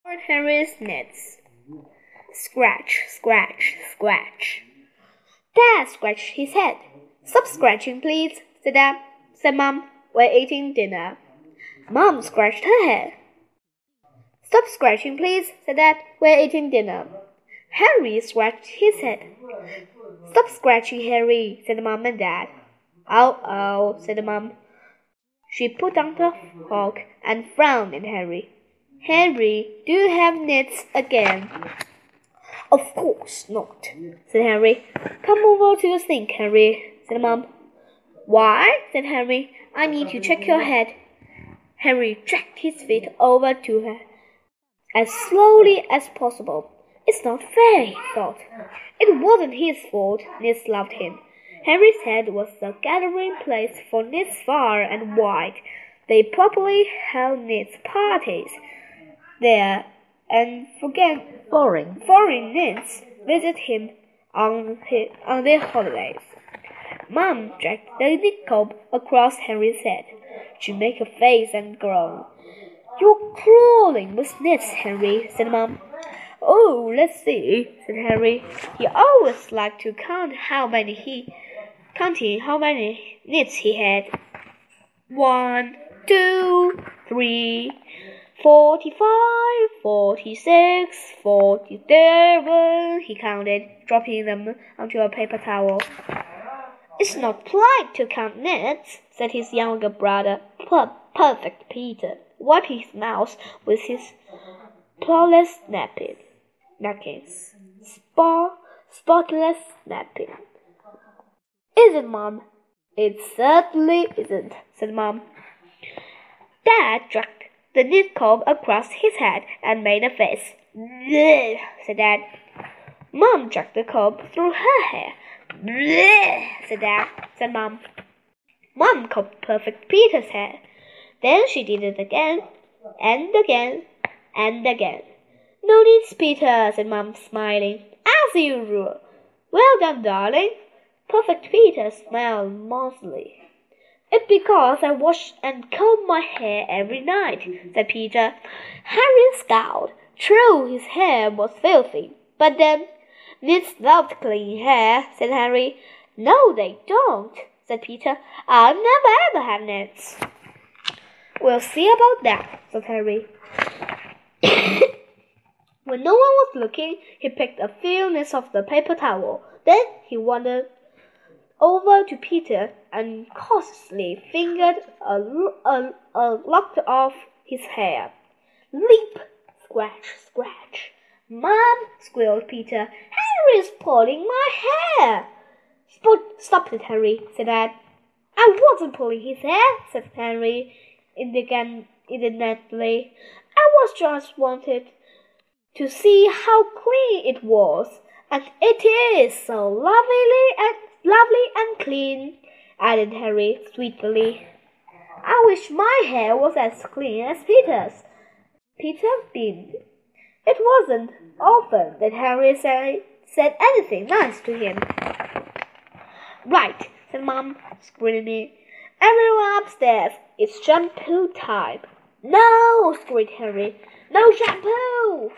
Henry's nets. Scratch, scratch, scratch. Dad scratched his head. Stop scratching, please, said Mom. We're eating dinner. Mom scratched her head. Stop scratching, please, said Dad. We're eating dinner. Henry scratched his head. Stop scratching, Henry, said Mom and Dad. Oh, said Mom. She put down the fork and frowned at Henry. Henry, do you have nets again? Of course not, said Henry. Come over to the sink, Henry, said Mom. Why? Said Henry. I need to check your head. Henry dragged his feet over to her as slowly as possible. It's not fair, he thought. It wasn't his fault. Nits loved him. Henry's head was the gathering place for nits far and wide. They probably held nits parties there, and foreign nits visit him on their holidays. Mom dragged the knit comb across Henry's head. She made a face and groaned. You're crawling with nits, Henry, said Mom. Oh, let's see, said Henry. He always liked to counting how many nits he had. 1, 2, 3, 45, 46, 47, he counted, dropping them onto a paper towel. It's not polite to count nits, said his younger brother, Perfect Peter, wiping his mouth with his flawless napkins. Spotless napkin. Isn't, Mom? It certainly isn't, said Mom. Dad dragged the knit comb across his head and made a face. Bleh, said Dad. Mom dragged the comb through her hair. Bleh, said Mom. Mom combed Perfect Peter's hair. Then she did it again, and again, and again. No needs, Peter, said Mom, smiling. As usual. Well done, darling. Perfect Peter smiled mournfully. It's because I wash and comb my hair every night, said Peter. Henry scowled. True, his hair was filthy, but then, nits loved clean hair, said Henry. No, they don't, said Peter. I'll never ever have nits. We'll see about that, said Henry. When no one was looking, he picked a few nits off the paper towel. Then he wandered over to Peter and cautiously fingered a lock of his hair. Leap! Scratch, scratch. Mom, squealed Peter. Henry's pulling my hair. Stop it, Henry, said Dad. I wasn't pulling his hair, said Henry indignantly. I was just wanted to see how clean it was, and it is so lovely and clean, added Henry sweetly. I wish my hair was as clean as Peter's. Peter beamed. It wasn't often that Henry said anything nice to him. Right, said Mom, screaming. Everyone upstairs, it's shampoo time. No, screamed Henry. No shampoo!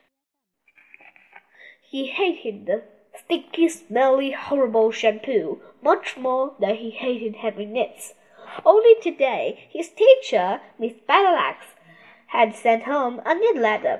He hated the sticky, smelly, horrible shampoo much more than he hated having nits. Only today, his teacher, Miss Battleaxe, had sent home a knit letter.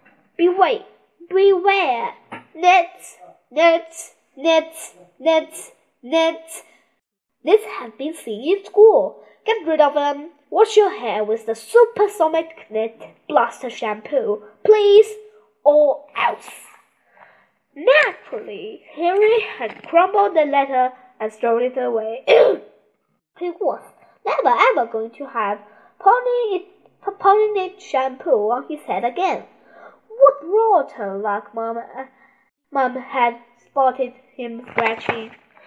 Beware! Nits! Nits! Nits! Nits! Nits! Nits have been seen in school. Get rid of them. Wash your hair with the supersonic knit blaster shampoo, please, or else. Naturally, Henry had crumbled the letter and thrown it away. He was never ever going to have pony knit shampoo on his head again. What rotten luck, Mom had spotted him scratching.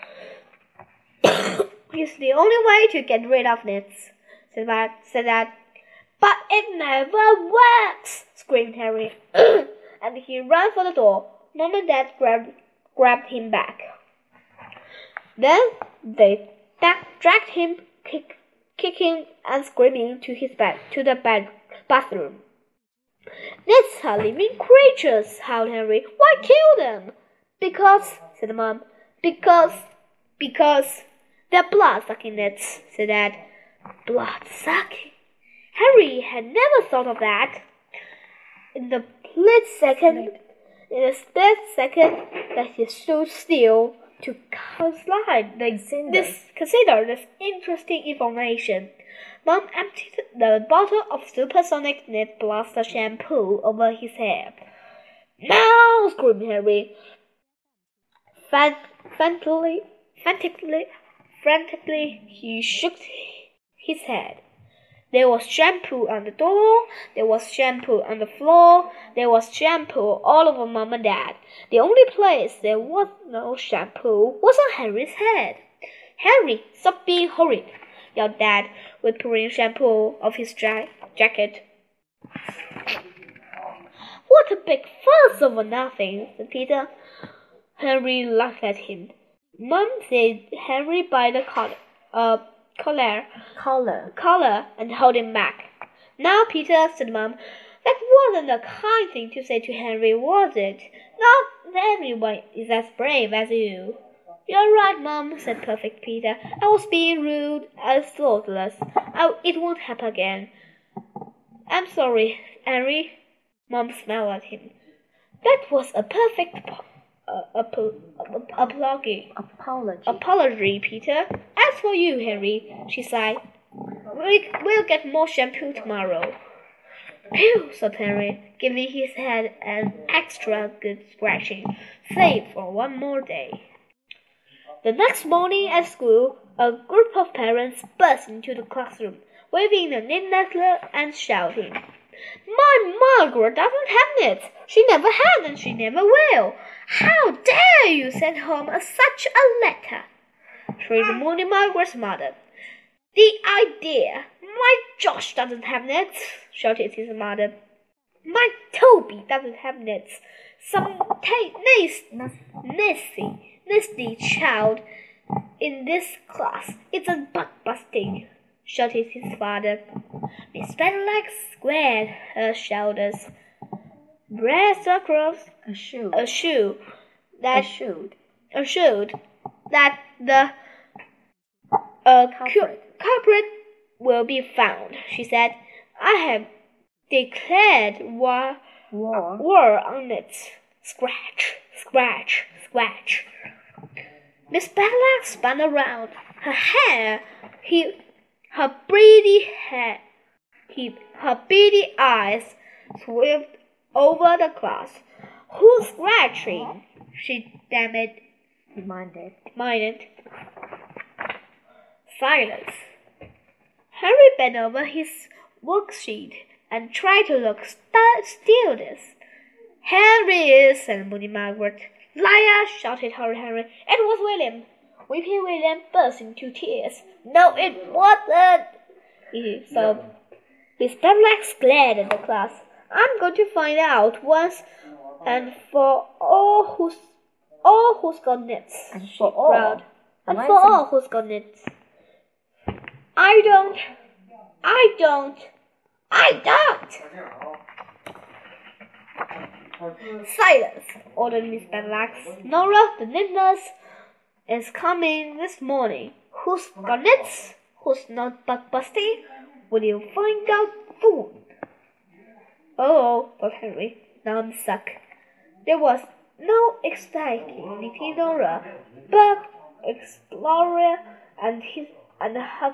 It's the only way to get rid of nits, said Dad. But it never works, screamed Henry, and he ran for the door. Mom and Dad grabbed him back. Then they dragged him, kicking and screaming, to the bathroom. Nits are living creatures, howled Henry. Why kill them? Because, said Mom. Because they're blood-sucking nits, said Dad. Blood-sucking? Harry had never thought of that. In the split second that he stood still to consider this interesting information, Mom emptied the bottle of supersonic Knit Blaster shampoo over his head. "No!" screamed Harry. Frantically, he shook his head. There was shampoo on the door, there was shampoo on the floor, there was shampoo all over Mom and Dad. The only place there was no shampoo was on Harry's head. "Harry, stop being horrid!" yelled Dad, whipping shampoo off his jacket. "What a big fuss over nothing," said Peter. Harry laughed at him. Mom said Harry by the collar and held him back. "Now, Peter," said Mom, "that wasn't a kind thing to say to Henry, was it? Not everyone is as brave as you." "You're right, Mom," said perfect Peter. "I was being rude and thoughtless. It won't happen again." "I'm sorry, Henry." Mom smiled at him. "That was a perfect apology, Peter. As for you, Henry," she sighed, we'll get more shampoo tomorrow." "Phew," said Henry, giving his head an extra good scratching, save for one more day. The next morning at school, a group of parents burst into the classroom, waving the knit letter and shouting, "My Margaret doesn't have knits. She never has and she never will. How dare you send home such a letter?" shrieked Moody Margaret's mother. "The idea! My Josh doesn't have knits," shouted his mother. "My Toby doesn't have knits. Some nasty child in this class isn't bug-busting," shouted his father. Miss Benedict squared her shoulders, braced across, assured that the culprit will be found. She said, "I have declared war on it." Scratch, scratch, scratch. Miss Benedict spun around. Her beady eyes swept over the class. "Who's scratching?" she demanded. Silence. Harry bent over his worksheet and tried to look studious. "Harry," said Moody Margaret. "Liar!" shouted Henry. "It was William." Weeping William burst into tears. "No, it wasn't," he sobbed. Miss Benedict glared at the class. "I'm going to find out once and for all who's got knits." For all who's got knits. I don't. "Silence," ordered Miss Benedict. "Nora, the knit nurse, is coming this morning. Who's got knits? Who's not bug-busting? Will you find out soon?" "Oh," thought Henry. "Now I'm stuck." There was no exciting Nicky Nora, bug explorer, and her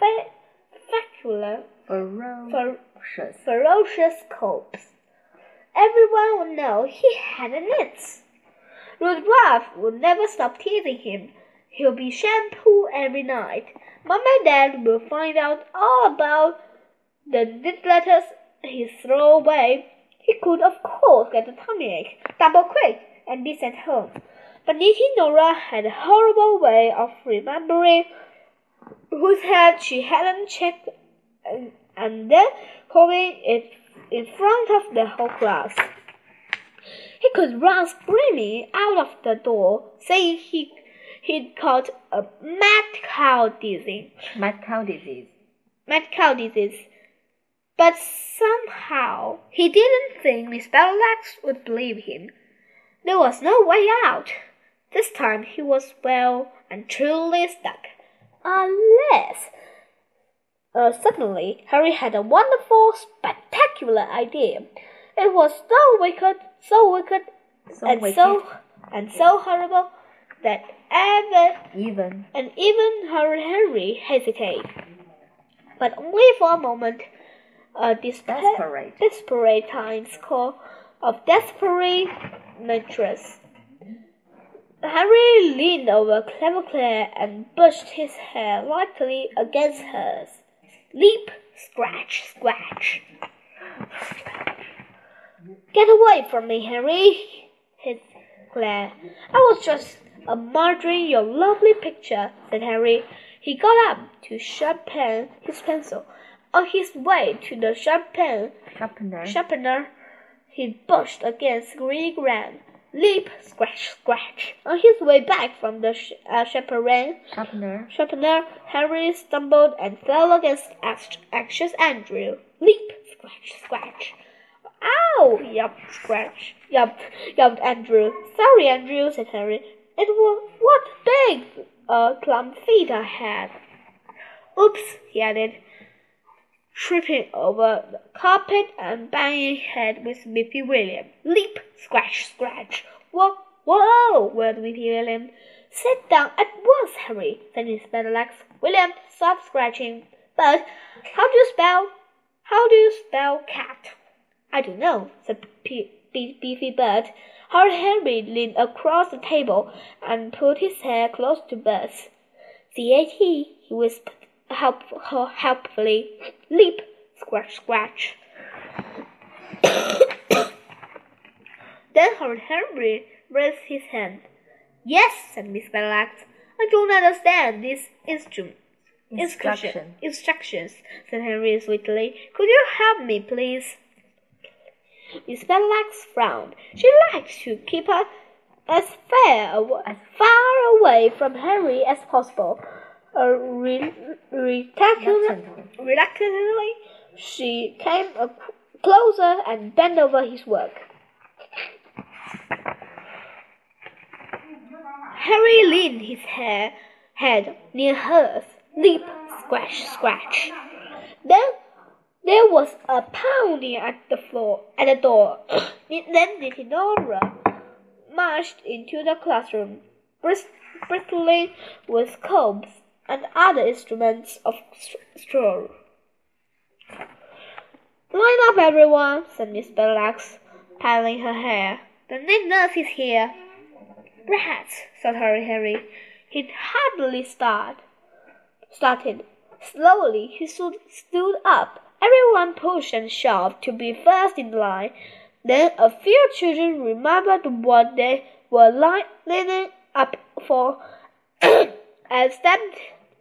ferocious corpse. Everyone would know he had a knits. Rudolph would never stop teasing him. He'll be shampoo every night. Mom and Dad will find out all about the knit letters he threw away. He could, of course, get a tummy ache, double quick, and be sent home. But Nicky Nora had a horrible way of remembering whose head she hadn't checked and then holding it in front of the whole class. He could run screaming out of the door, saying he'd caught a mad cow disease. But somehow he didn't think Miss Battleaxe would believe him. There was no way out. This time he was well and truly stuck. Unless... Suddenly, Harry had a wonderful, spectacular idea. It was so wicked, and so horrible that even Harry hesitated. But only for a moment. A desperate times call of desperate natures. Harry leaned over Clever Claire and brushed his hair lightly against hers. Leap, scratch, scratch. Get away from me, Harry, hissed Claire. I was just admiring your lovely picture, said Harry. He got up to sharpen his pencil. On his way to the sharpener, he brushed against green ground. Leap, scratch, scratch. On his way back from the sharpener, Harry stumbled and fell against anxious Andrew. Leap, scratch, scratch. Ow! Yelped Andrew. Sorry, Andrew, said Harry. It was what big clump feet I had. Oops, he added, tripping over the carpet and banging head with Whippy William. Leap, scratch, scratch. Whoa, wailed Whippy William. Sit down at once, Harry, said Miss Battleaxe. William, stop scratching. But how do you spell cat? I don't know, said Beefy Bud. Harry leaned across the table and put his hair close to Bud's. C-A-T, he whispered helpfully. Leap, scratch, scratch. Then Harry raised his hand. Yes, said Miss Battleaxe. I don't understand these instructions, said Henry sweetly. Could you help me, please? Miss Battleaxe frowned. She liked to keep her as far away from Harry as possible. Reluctantly, she came closer and bent over his work. Harry leaned his head near hers. Leap, scratch, scratch. Then there was a pounding at the door. Then Lady Nora marched into the classroom, bristling with combs and other instruments of straw. Line up, everyone, said Miss Battleaxe, piling her hair. The night nurse is here. Rats, said Harry. He'd hardly started. Slowly he stood up. Everyone pushed and shoved to be first in line. Then a few children remembered what they were lining up for and stepped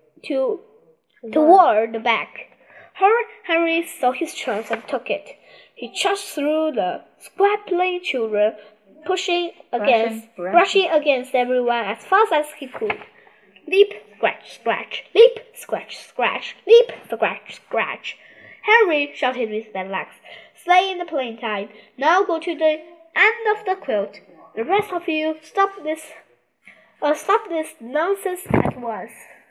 toward the back. Harry saw his chance and took it. He charged through the squabbling children, brushing against everyone as fast as he could. Leap, scratch, scratch. Leap, scratch, scratch. Leap, scratch, scratch. Harry, shouted Miss Battleaxe, stay in the plain time. Now go to the end of the quilt. The rest of you stop this nonsense at once.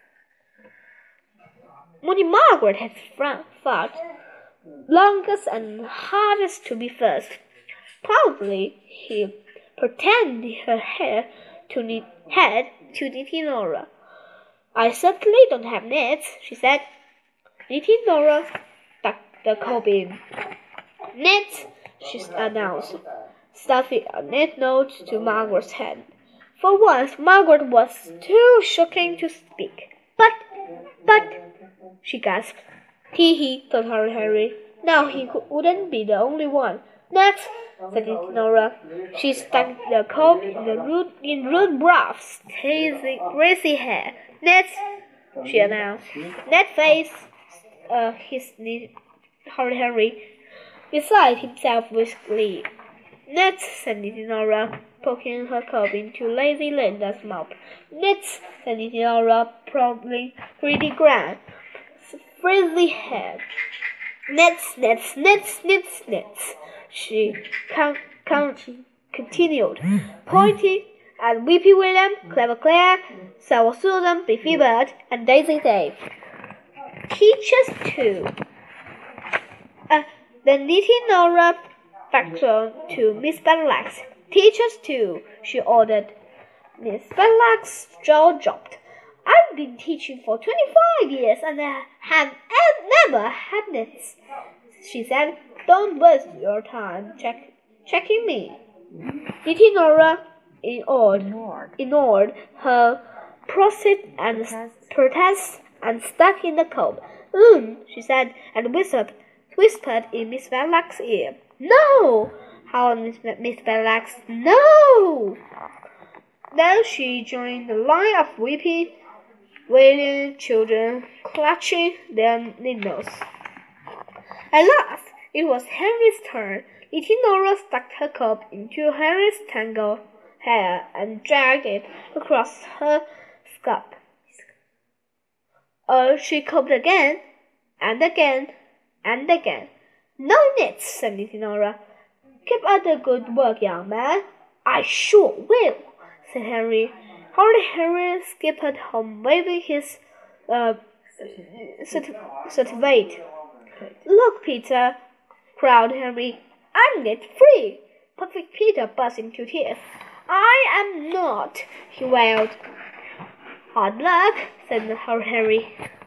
Only Margaret had fought longest and hardest to be first. Proudly, he pretended her head to Nicky Nora. I certainly don't have nets, she said. Nicky Nora stuck the comb in. Nets, she announced, stuffing a net note to Margaret's hand. For once, Margaret was too shaken to speak. But, she gasped. Hee, thought Harry. Now he wouldn't be the only one. Next, said Nora. She stuck the comb in rude Ruff's crazy hair. Next, she announced. Ned faced his Harry beside himself with glee. Next, said Nora, poking her comb into Lazy Linda's mouth. Next, said Nora, promptly pretty grand, frizzy hair. Knits, knits, knits, knits, knits, she continued, pointing at Weepy William, Clever Claire, Sour Susan, Biffy Bird, and Daisy Dave. Teachers too. Then knitting Nora back to Miss Benlax. Teachers too, she ordered. Miss Benlax's jaw dropped. I've been teaching for 25 years and I have never had knits, she said. Don't waste your time checking me. Knitting Nora ignored her protests and stuck in the cold. She said, and whispered in Miss Benlax's ear. No! Howled Miss Benlax. No! Then she joined the line of weeping, wailing children clutching their needles. At last, it was Henry's turn. Little Nora stuck her comb into Henry's tangled hair and dragged it across her scalp. She combed again and again and again. No knits, said Little Nora. Keep up the good work, young man. I sure will, said Henry. Henry skipped home waving his certificate. Look, Peter, cried Henry. I'm knit free. Perfect Peter burst into tears. I am not, he wailed. Hard luck, said Henry.